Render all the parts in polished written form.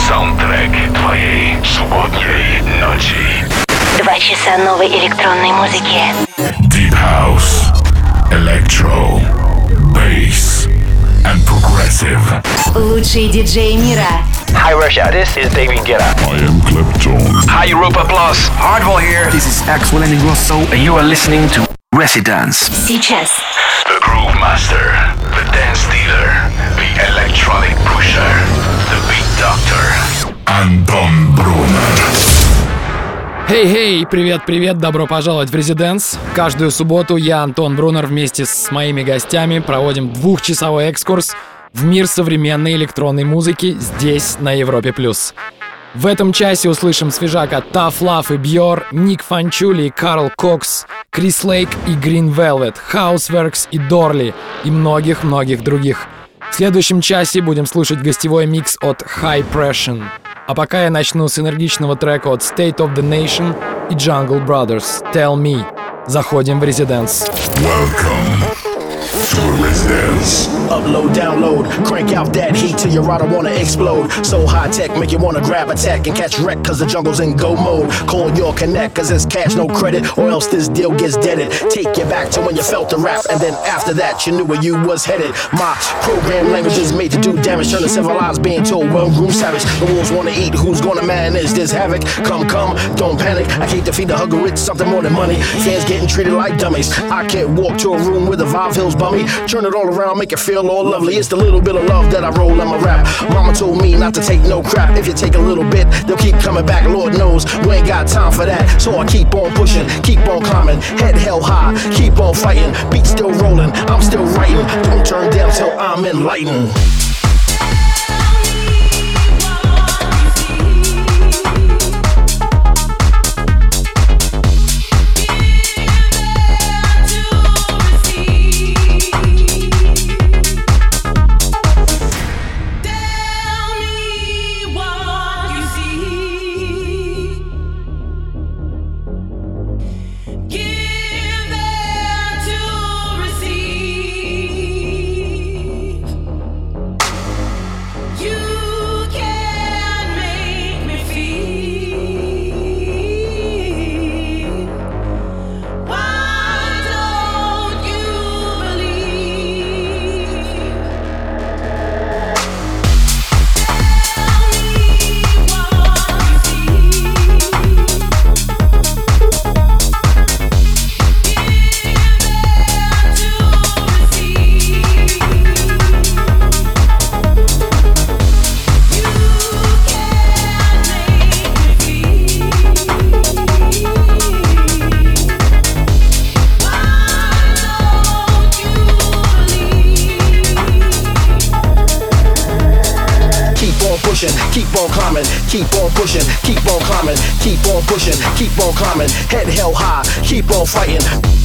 Саундтрек твоей субботней ночи. 2 часа новой электронной музыки. Deep House, Electro, Bass and Progressive. Лучшие диджеи мира. Hi Russia, this is David Guetta. I am Clapton. Hi Europa Plus, Hardwell here. This is Axel Ingrosso, and you are listening to Residence. Сейчас. The Groove Master, the Dance Dealer, the Electronic Pusher, the Beat Doctor, Антон Брунер. Хей-хей, привет-привет, добро пожаловать в Residence. Каждую субботу я, Антон Брунер, вместе с моими гостями проводим 2-часовой экскурс в мир современной электронной музыки здесь, на Европе+. В этом часе услышим свежак от Tough Love и Björ, Ник Фанчули и Карл Кокс, Крис Лейк и Green Velvet, Houseworks и Дорли и многих-многих других. В следующем часе будем слушать гостевой микс от High Pressure. А пока я начну с энергичного трека от State of the Nation и Jungle Brothers, Tell Me. Заходим в Residence. Welcome to Residence. Upload, download, crank out that heat till your router wanna explode. So high tech, make you wanna grab attack and catch wreck, cause the jungle's in go mode. Call your connect, cause it's cash, no credit, or else this deal gets deaded. Take you back to when you felt the rap, and then after that, you knew where you was headed. My program language is made to do damage, turn the civil lives being told, well, room savage. The wolves wanna eat, who's gonna manage this havoc? Come, don't panic. I can't defeat the hugger, it's something more than money. Fans getting treated like dummies. I can't walk to a room with a Vibe Hills bummy. Turn it all around, make it feel all lovely. It's the little bit of love that I roll in my rap. Mama told me not to take no crap. If you take a little bit, they'll keep coming back. Lord knows we ain't got time for that. So I keep on pushing, keep on climbing, head held high, keep on fighting. Beat still rolling, I'm still writing. Don't turn down till I'm enlightened. Keep on climbing, keep on pushing, keep on climbing, keep on pushing, keep on climbing, head held high, keep on fighting.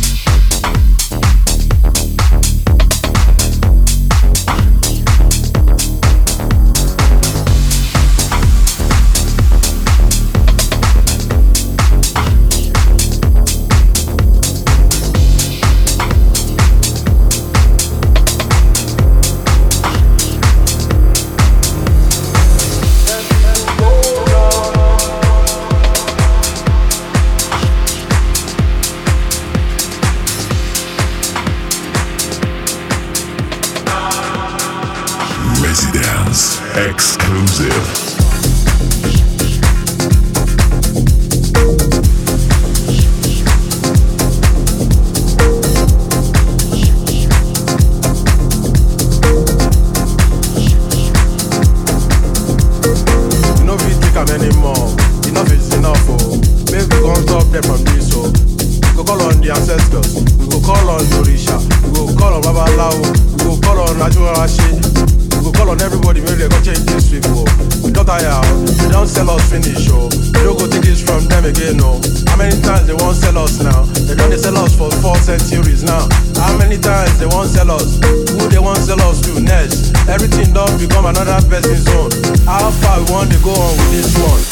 Exclusive. Another person's zone. How far we want to go on with this one?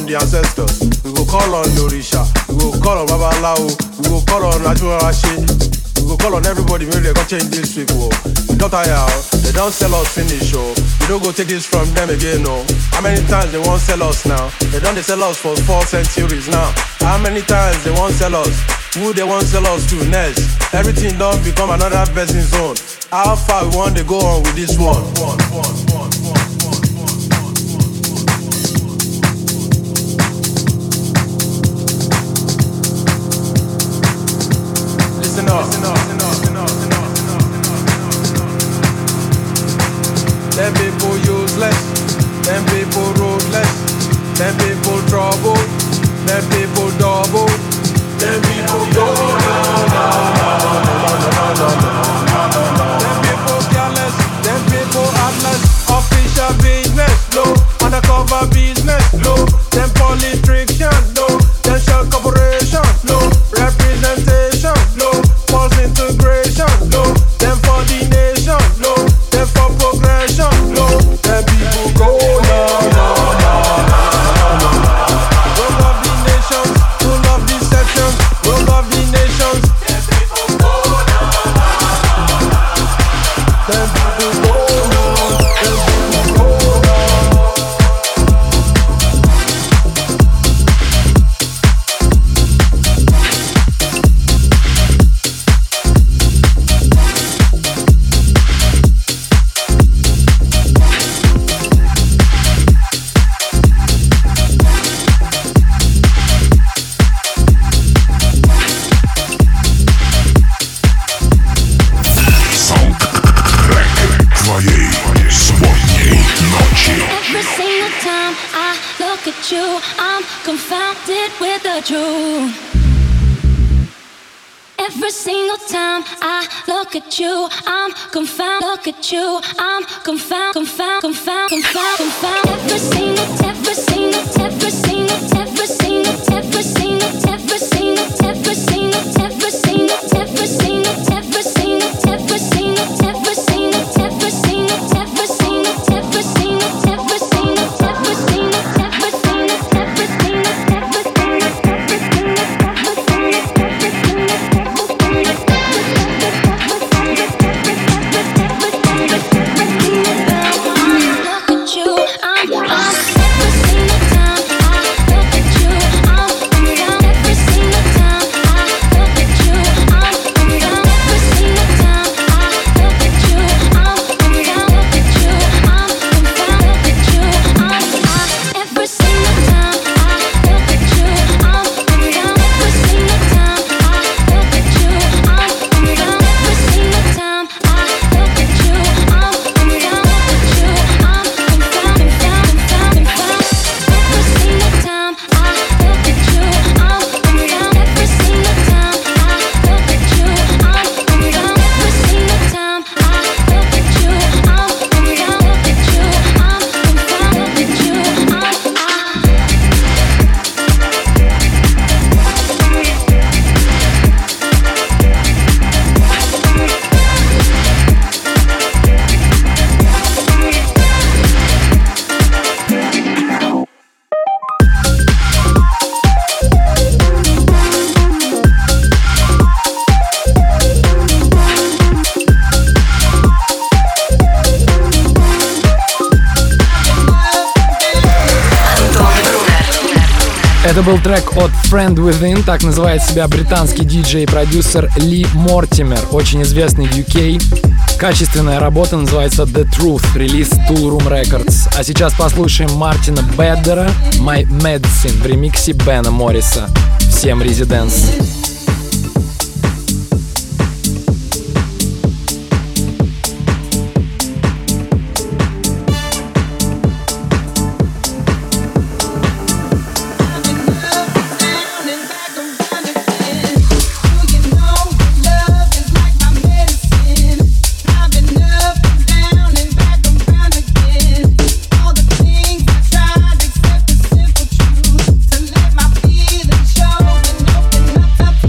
on the ancestors. We go call on Orisha. We go call on Babalawo. We go call on Ajuarashi. We go call on everybody. Maybe they go change this week. Oh. We don't tire. They don't sell us finish. Oh. We don't go take this from them again. Oh. How many times they won't sell us now? They don't sell us for 4 centuries now. How many times they won't sell us? Who they won't sell us to next? Everything don't become another person's zone. How far we want to go on with this one? Listen up. Them people useless. Them people ruthless. Them people trouble. Them people double. Them people go Them people careless. Them people heartless. Official business, no. Undercover business, no. Them politicians, no. Them shell corporation, no. Representation, no. False integration, no. Them for the nation, no. Them for progression, no. Them people go Roll of the nations, full of deception. Roll of the nations. Them people go Them people go Every single time I look at you, I'm confounded. Look at you, I'm confounded. Every single Это был трек от Friend Within, так называет себя британский диджей и продюсер Ли Мортимер, очень известный в UK. Качественная работа называется The Truth, релиз Tool Room Records. А сейчас послушаем Мартина Беддера My Medicine в ремиксе Бена Морриса. Всем резиденс. Up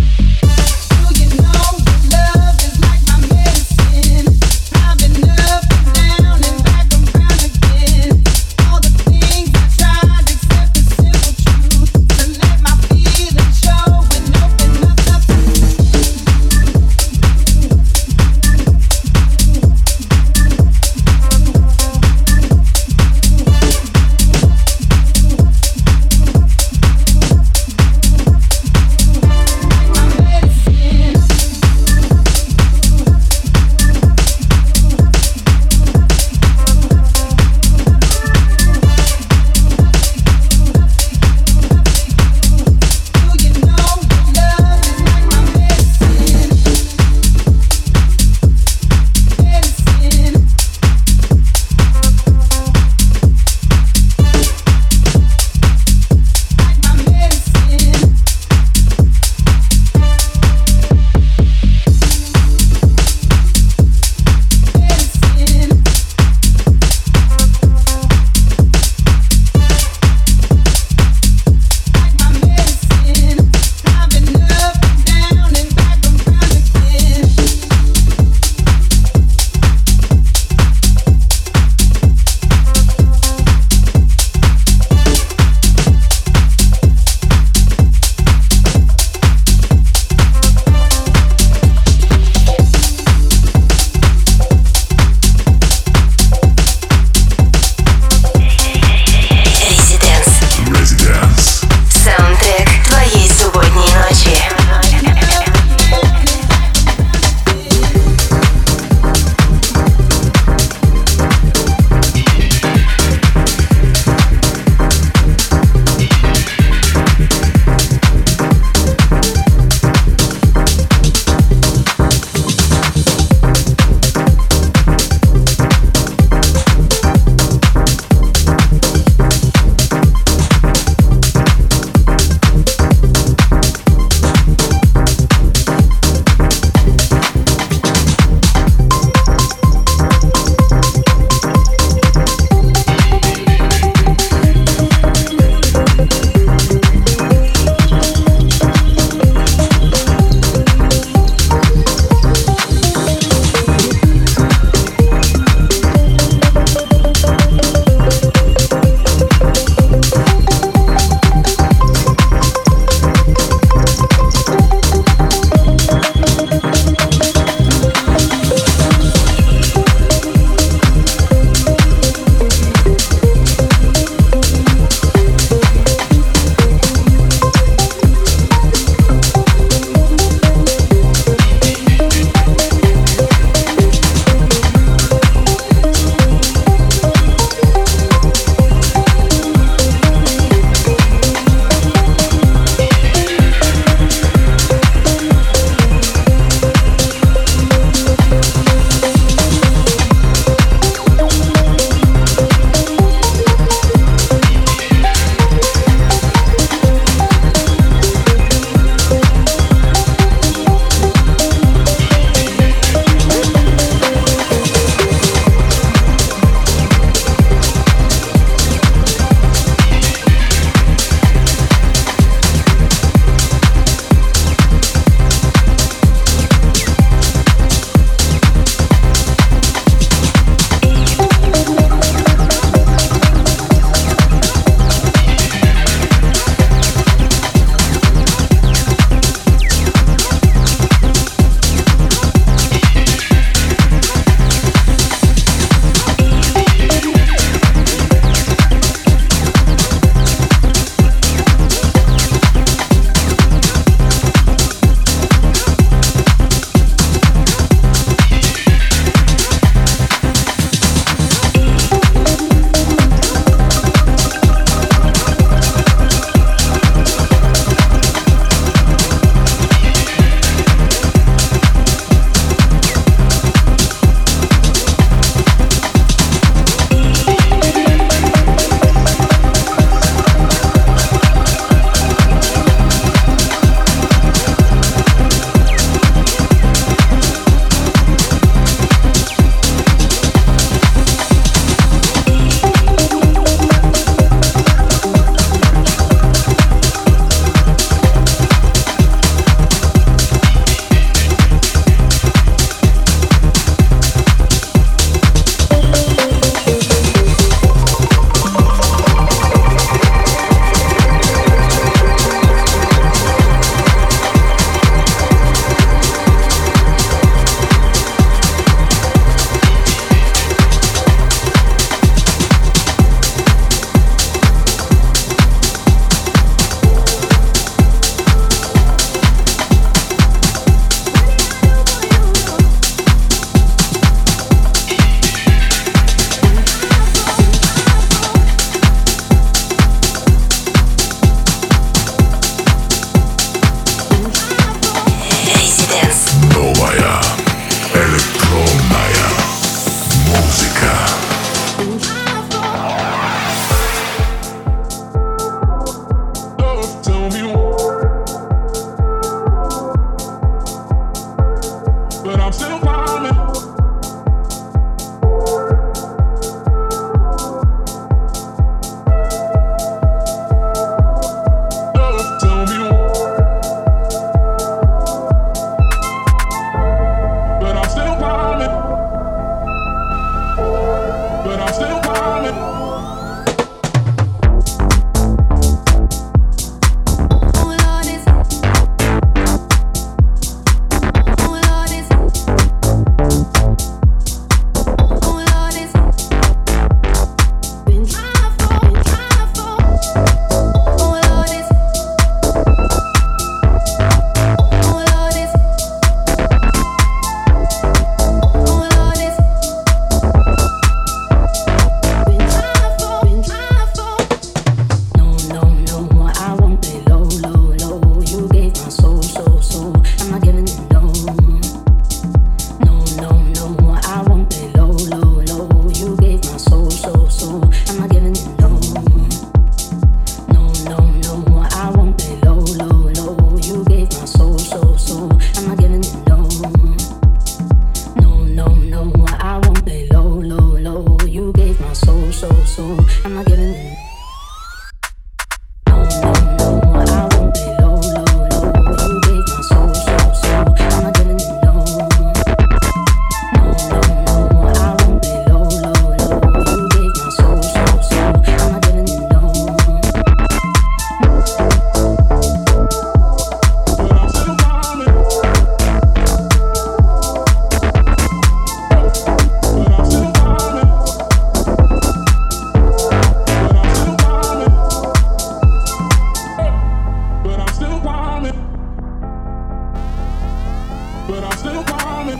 but I'm still coming.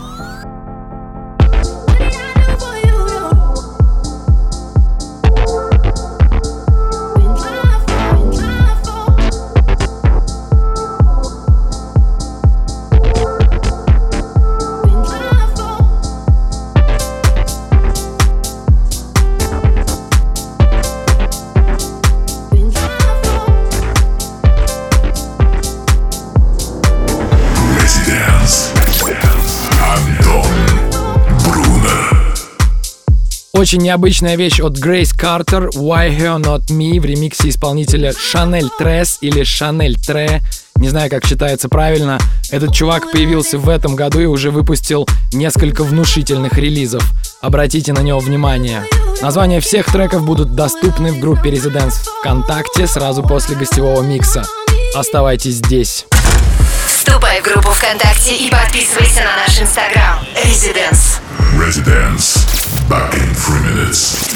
Очень необычная вещь от Грейс Картер, Why Her Not Me, в ремиксе исполнителя Шанель Трес или Шанель Тре. Не знаю, как читается правильно. Этот чувак появился в этом году и уже выпустил несколько внушительных релизов. Обратите на него внимание. Названия всех треков будут доступны в группе Residence ВКонтакте сразу после гостевого микса. Оставайтесь здесь. Вступай в группу ВКонтакте и подписывайся на наш Инстаграм. Residence. Back in 3 minutes.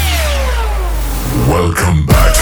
Welcome back.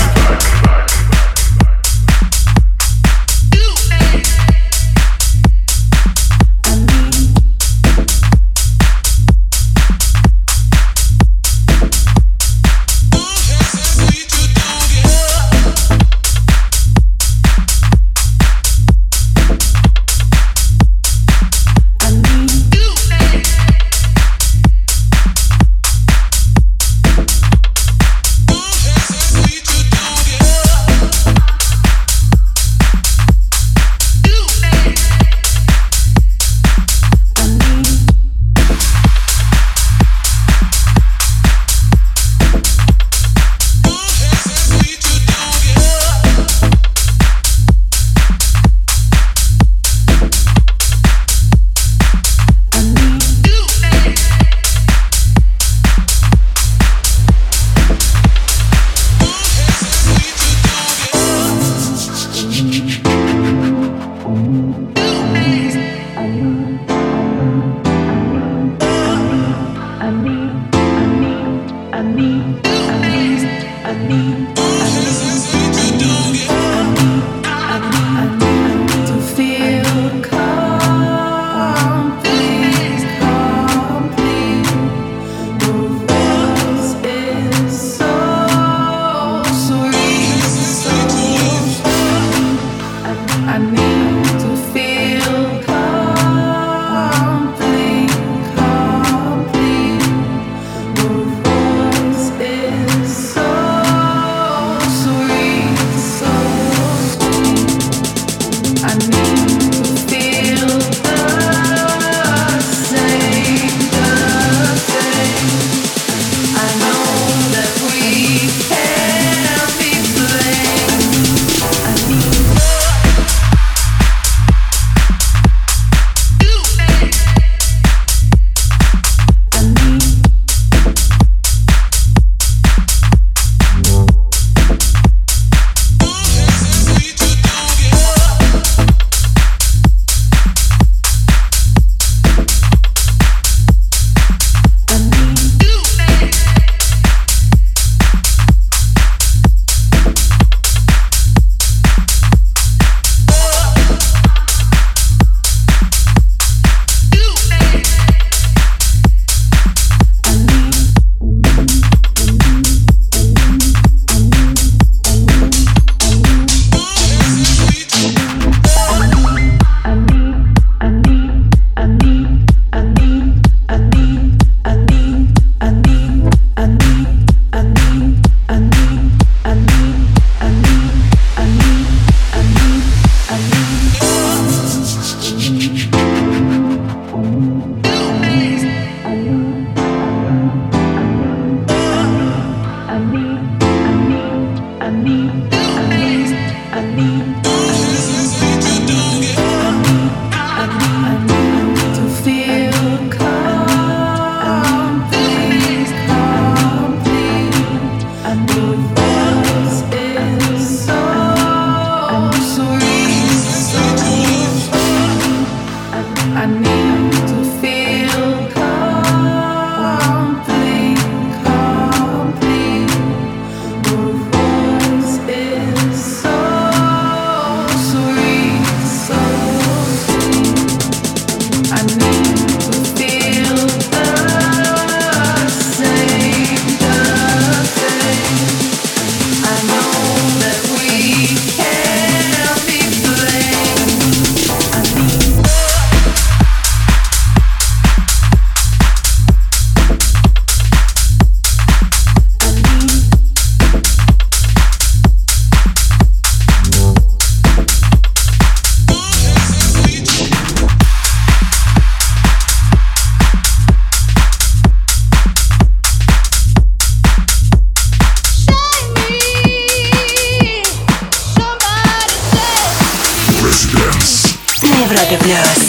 на Европе плюс.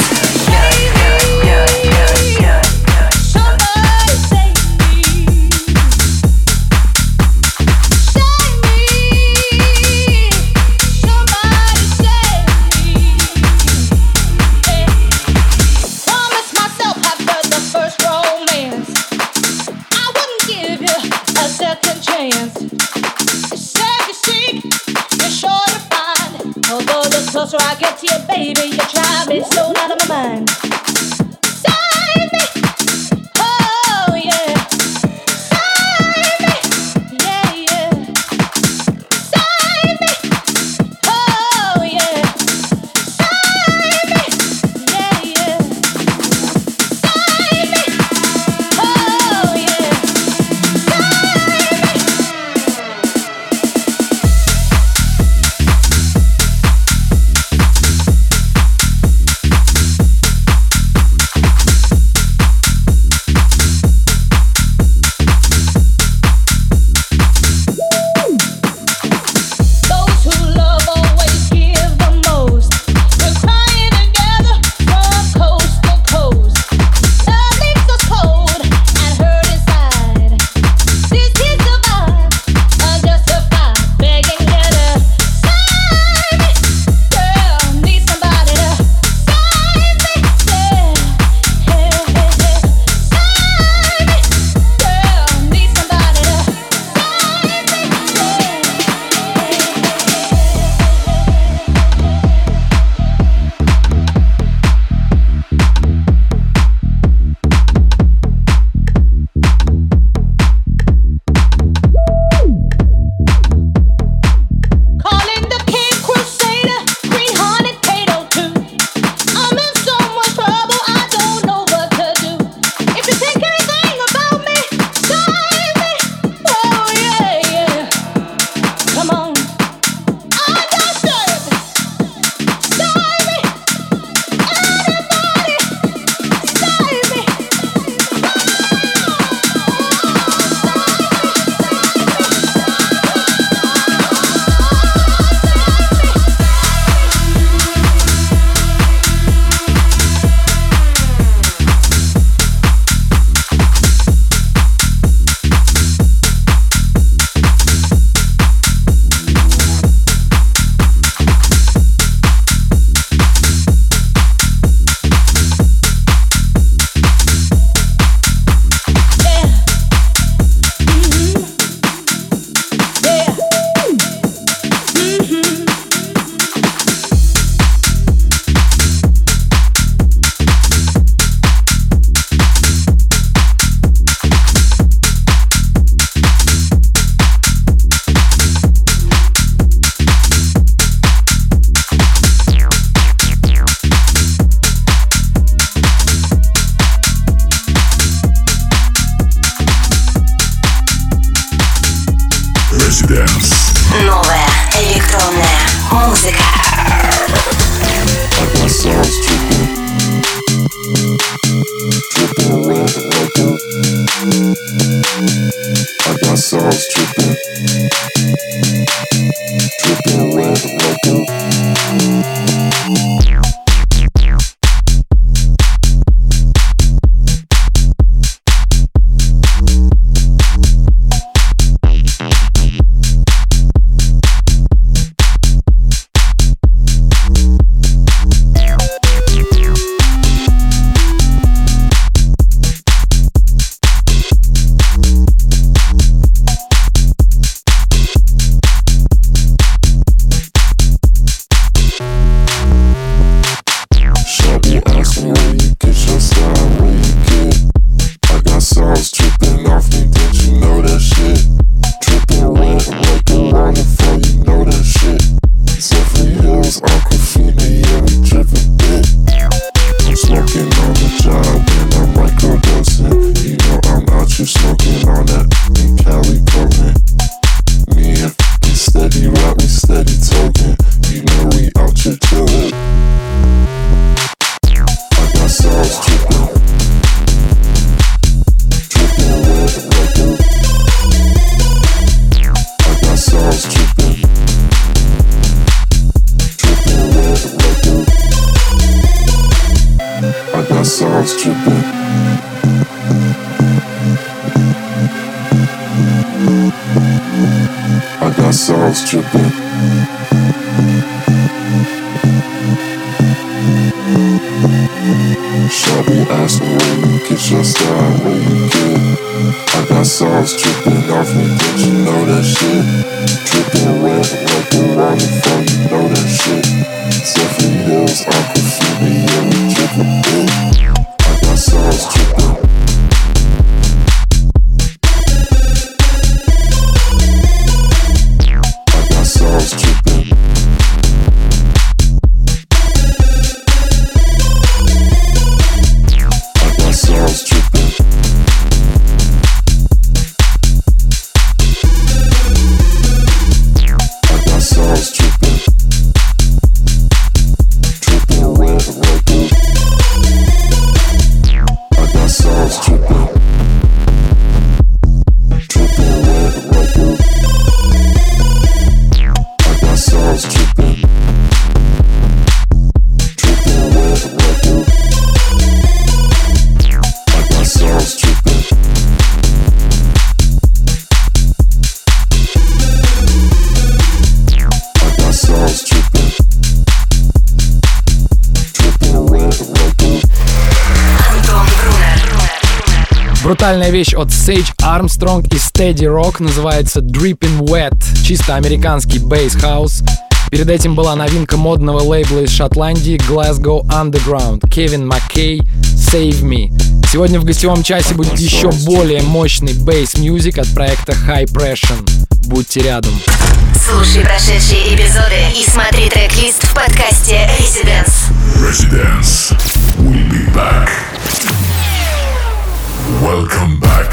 Closer I get to you, baby, you drive me so out of my mind. Save me, oh yeah. Save me, yeah, yeah. Save me, oh yeah. Save me, yeah, yeah. Save me, oh yeah. Новая электронная музыка. got sauce dripping. I got sauce dripping. Shawty asking where you get your style, where you get. I got sauce dripping off me, don't you know that shit? Dripping wet like the waterfall, you know that shit. Zephyr Hills, Aquafina, yeah, we drippin' big. I got sauce dripping. I got sauce dripping. I got sauce dripping. I got sauce dripping. Dripping wet like a. I got sauce dripping. Dripping wet like a. I got sauce dripping. Dripping wet like a. I got sauce dripping. I got sauce dripping. Dripping wet like a. Антон Брунер. Брутальная вещь от Sage Armstrong и Steady Rock называется Drippin' Wet. Чисто американский бейс-хаус. Перед этим была новинка модного лейбла из Шотландии Glasgow Underground, Кевин Маккей, Save Me. Сегодня в гостевом часе будет еще более мощный бейс-мьюзик от проекта High Pressure. Будьте рядом. Слушай прошедшие эпизоды и смотри трек-лист в подкасте Residence. Residence. We'll be back. Welcome back.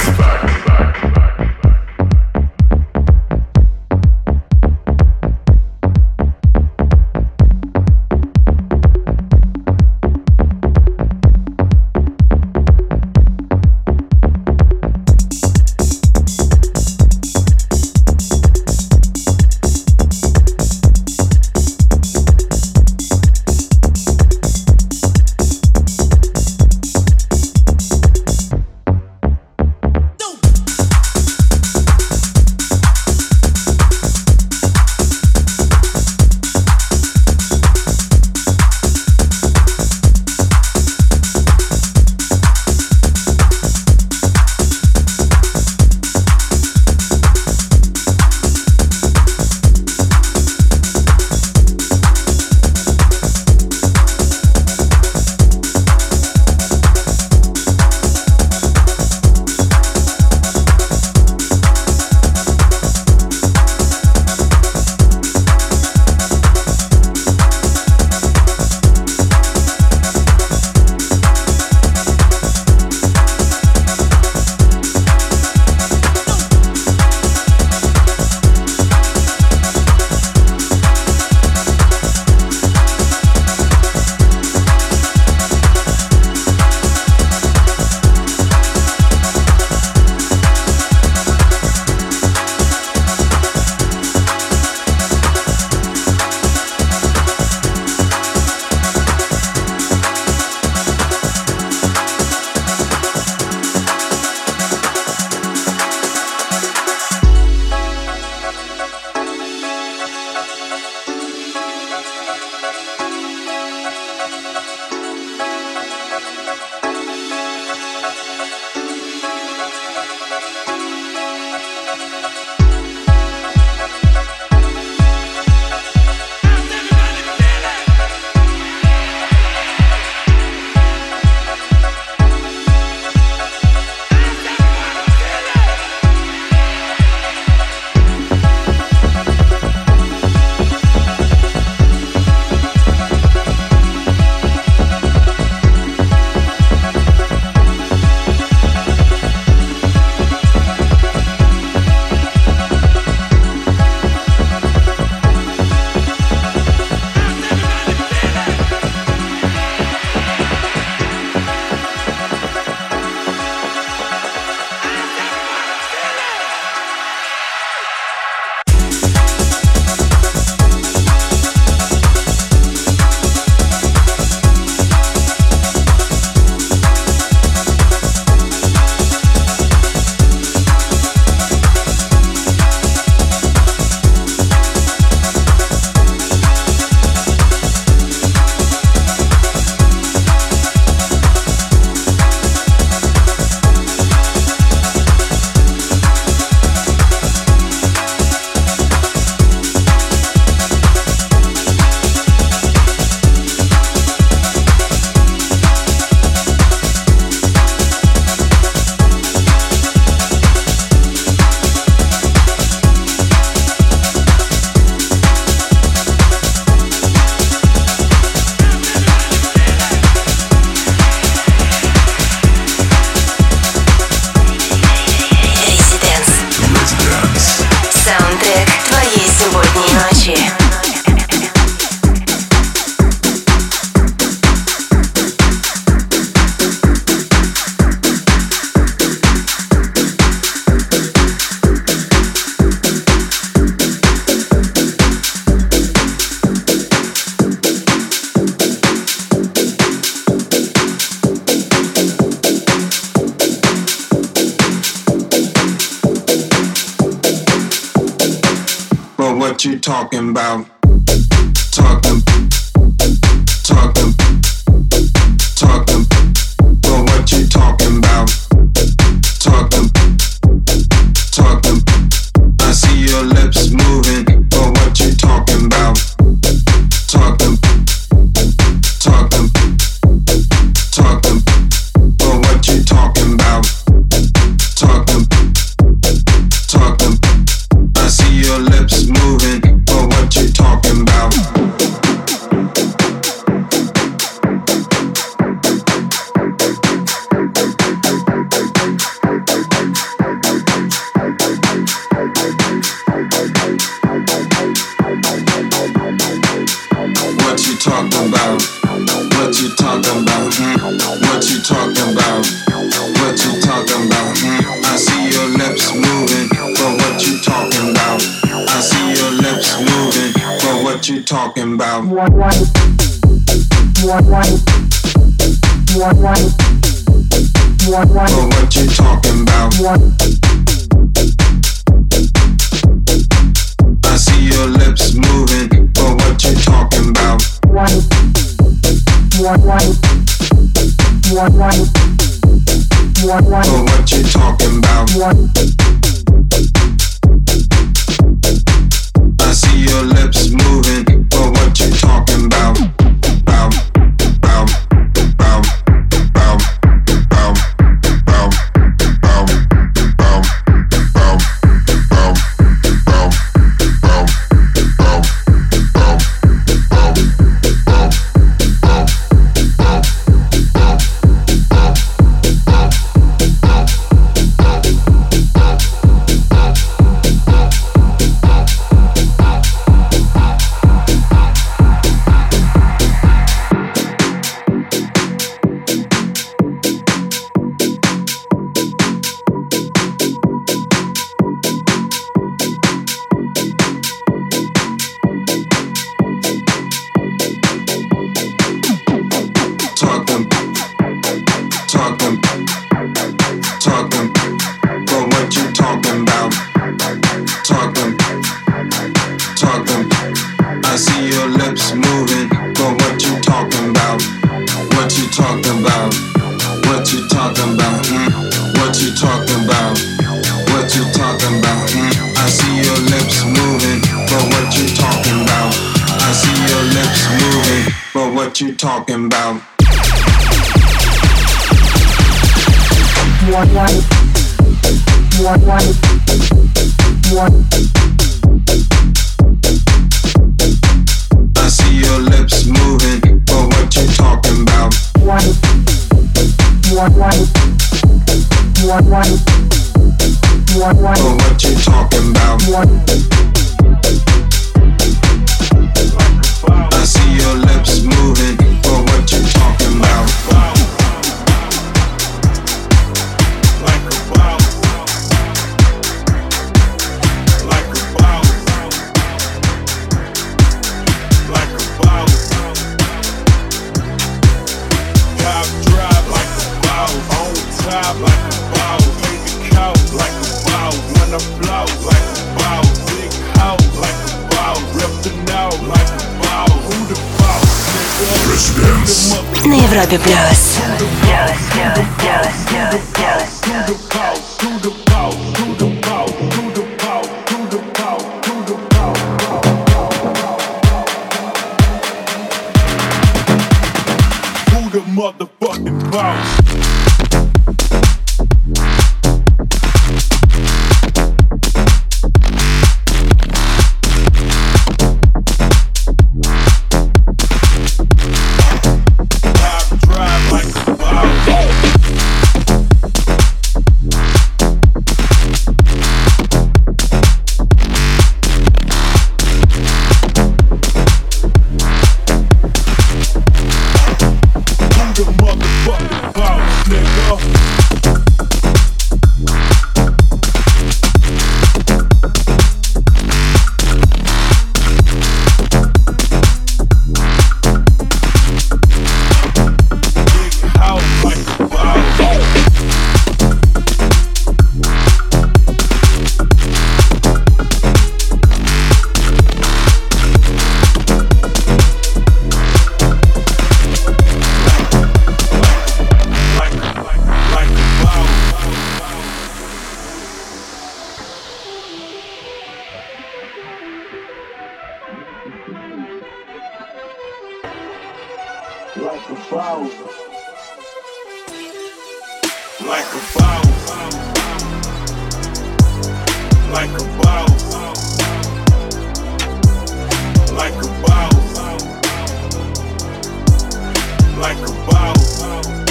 what you talking about? Talking, talking, talking, but what you talking about? Talking, talking, I see your lips moving, but what you talking about? Talking, talking, talking, but what you talking about? Talking, talking, I see your lips moving, but what you talking about? What you talking about? What you talking about? What you talking about? What you talking about? I see your lips moving, but what you talking about? I see your lips moving, but what you talking about? But what you talking about? I see your lips moving, but what you talking about? But what you talking about? I see your lips moving, but what you talking about? Bow, bow, bow, bow, bow, bow, bow, bow, bow, bow, bow, bow, bow, talking, talking, talking, but what you talking about? Talking, talking, I see your lips moving, but what you talking about? What you talking about? What you talking about? What you talking about? What you talking about? I see your lips moving, but what you talking about? I see your lips moving, but what you talking about? I see your lips moving, but what you talking about? But what you talking about? I see your lips moving, but what you talking about? На Европе плюс. Who the motherfucking boss? Motherfucking boss. Like a boss, like a boss, like a boss, like a boss,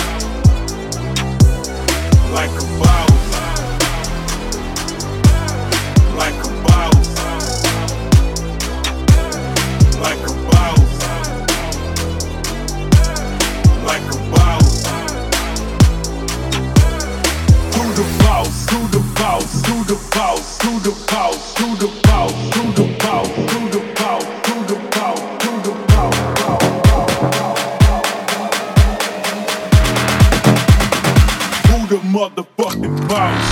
like a boss, like a boss, like a boss, like a boss. Who the boss? Who the boss? Who the boss? Who the boss? Who the boss? Who the boss? Who the boss? Who the boss? Who the boss? Who the motherfucking boss?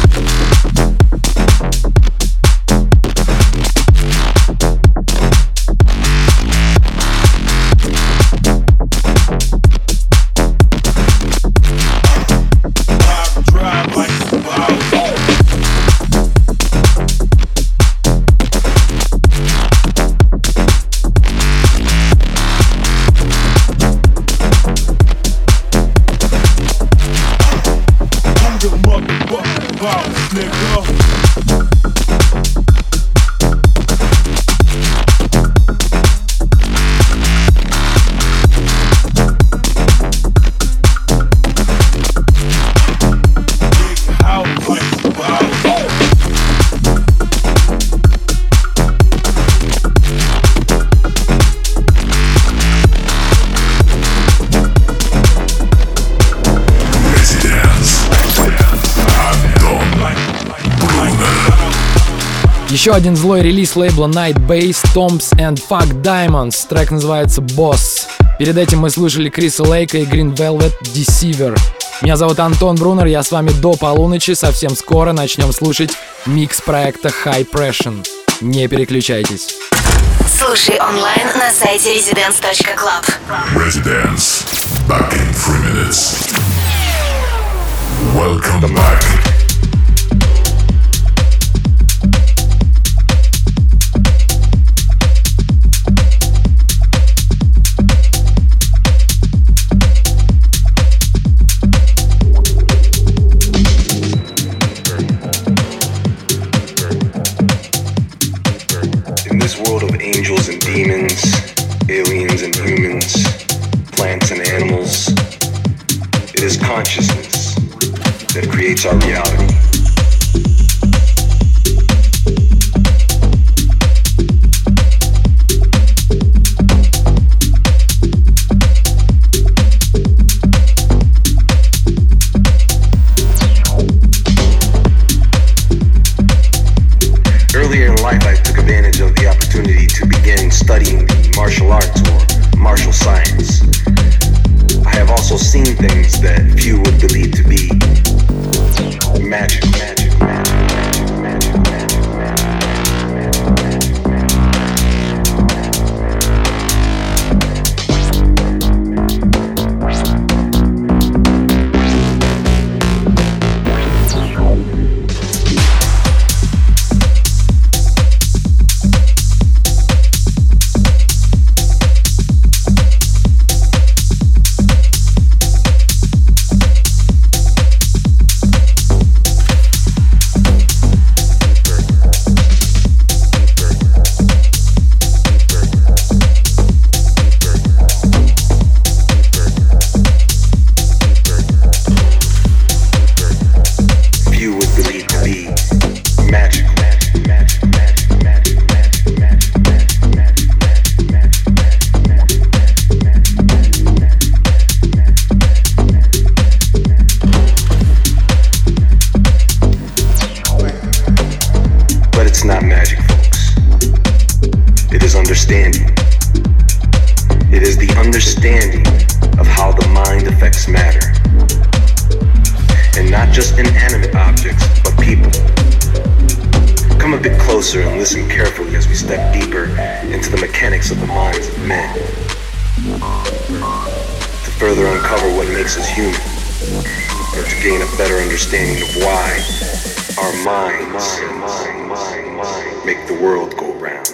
Еще один злой релиз лейбла Night Base, Tombs and Fuck Diamonds. Трек называется Boss. Перед этим мы слушали Криса Лейка и Green Velvet Deceiver. Меня зовут Антон Брунер, я с вами до полуночи. Совсем скоро начнем слушать микс проекта High Pression. Не переключайтесь. Слушай онлайн на сайте residence.club. Residence. Back in 3 minutes. Welcome back. Angels and demons, aliens and humans, plants and animals. It is consciousness that creates our reality. Earlier in life, I took advantage of the opportunity to begin studying the martial arts or martial science. I have also seen things that few would believe to be magic, magic, magic, magic, magic, magic, magic. And listen carefully as we step deeper into the mechanics of the minds of men to further uncover what makes us human and to gain a better understanding of why our minds make the world go round.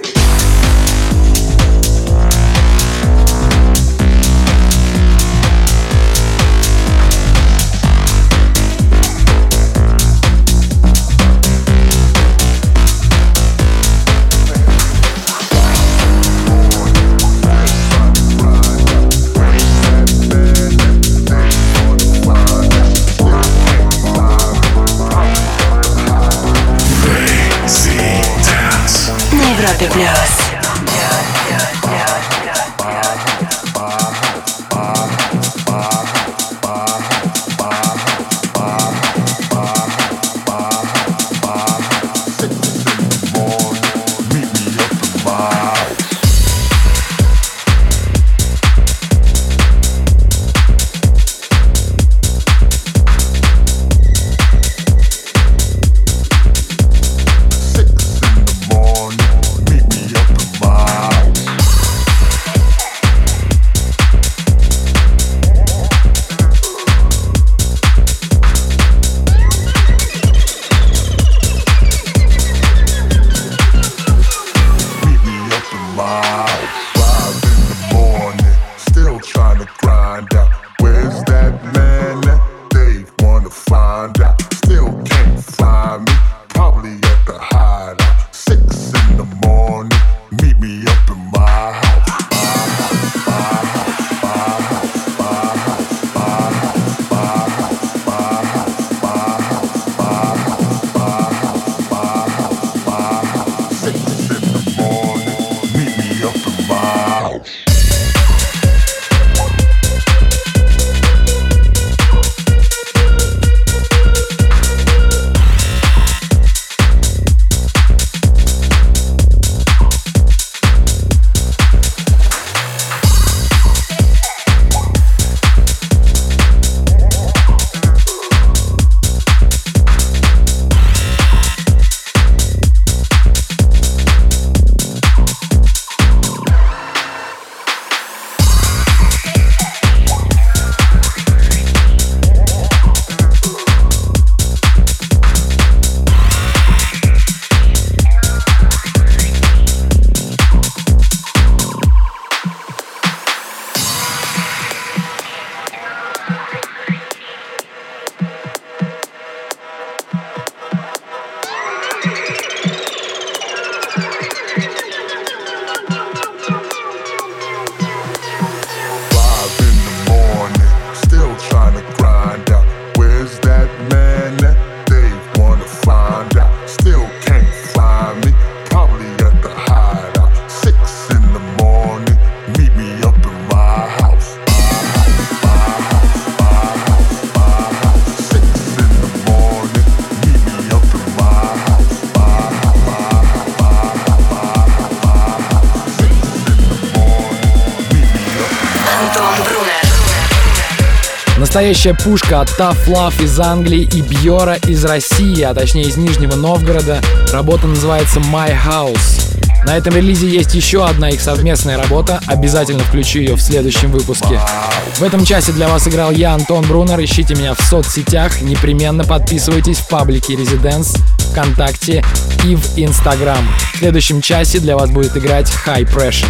Настоящая пушка от Tough Love из Англии и Бьора из России, а точнее из Нижнего Новгорода. Работа называется My House. На этом релизе есть еще одна их совместная работа, обязательно включу ее в следующем выпуске. В этом часе для вас играл я, Антон Брунер. Ищите меня в соцсетях, непременно подписывайтесь в паблике Residence, ВКонтакте и в Инстаграм. В следующем часе для вас будет играть High Pressure.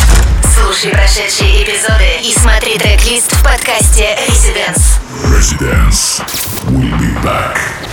Слушай прошедшие эпизоды и смотри трек-лист в подкасте Residence. Residence. We'll be back.